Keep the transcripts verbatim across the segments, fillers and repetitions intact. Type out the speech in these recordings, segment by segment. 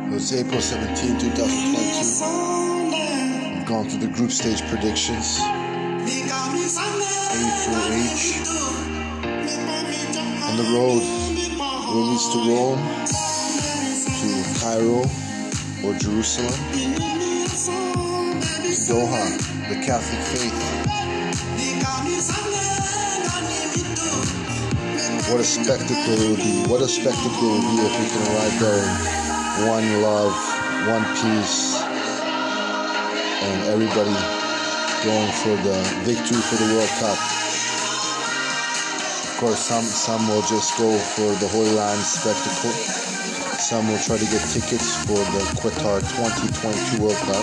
It was April seventeenth, twenty twenty-two. We've gone through the group stage predictions. A through H. On the road, where it leads to Rome, to Cairo or Jerusalem, to Doha, the Catholic faith. What a spectacle it would be. What a spectacle it would be if we can arrive there in one love, one peace, and everybody going for the victory for the World Cup. Of course, some, some will just go for the Holy Land spectacle. Some will try to get tickets for the Qatar twenty twenty-two World Cup.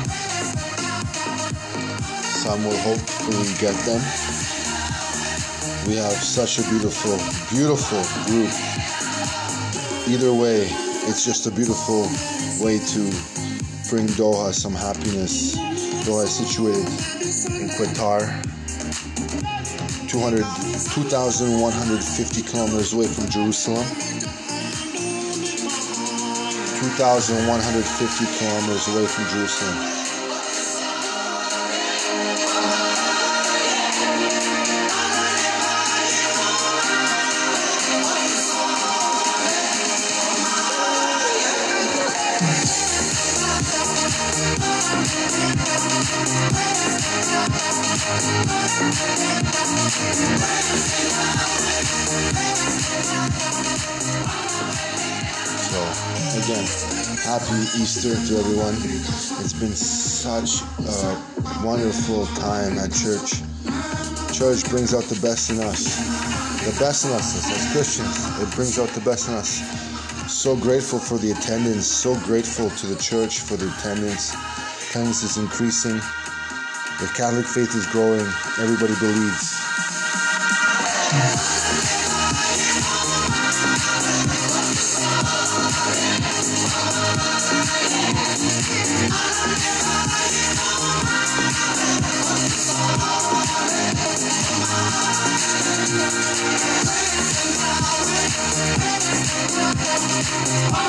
Some will hopefully get them. We have such a beautiful, beautiful group. Either way, it's just a beautiful way to bring Doha some happiness. Doha is situated in Qatar, two thousand one hundred fifty kilometers away from Jerusalem. two thousand one hundred fifty kilometers away from Jerusalem. So, again, happy Easter to everyone. It's been such a wonderful time at church. Church brings out the best in us. The best in us as Christians. It brings out the best in us. So grateful for the attendance. So grateful to the church for the attendance. Attendance is increasing. The Catholic faith is growing. Everybody believes. Oh,